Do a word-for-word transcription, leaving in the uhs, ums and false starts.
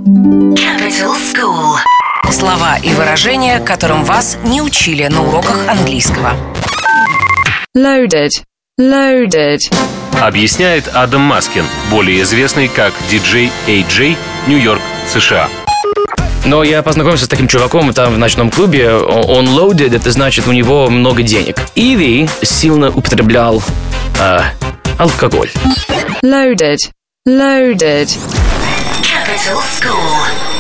Capital School. Слова и выражения, которым вас не учили на уроках английского. Loaded. Loaded. Объясняет Адам Маскин, более известный как диджей эй джей, Нью-Йорк, США. Но я познакомился с таким чуваком там в ночном клубе. Он loaded, это значит, у него много денег. Или сильно употреблял э, алкоголь. Loaded. Loaded. Capital School.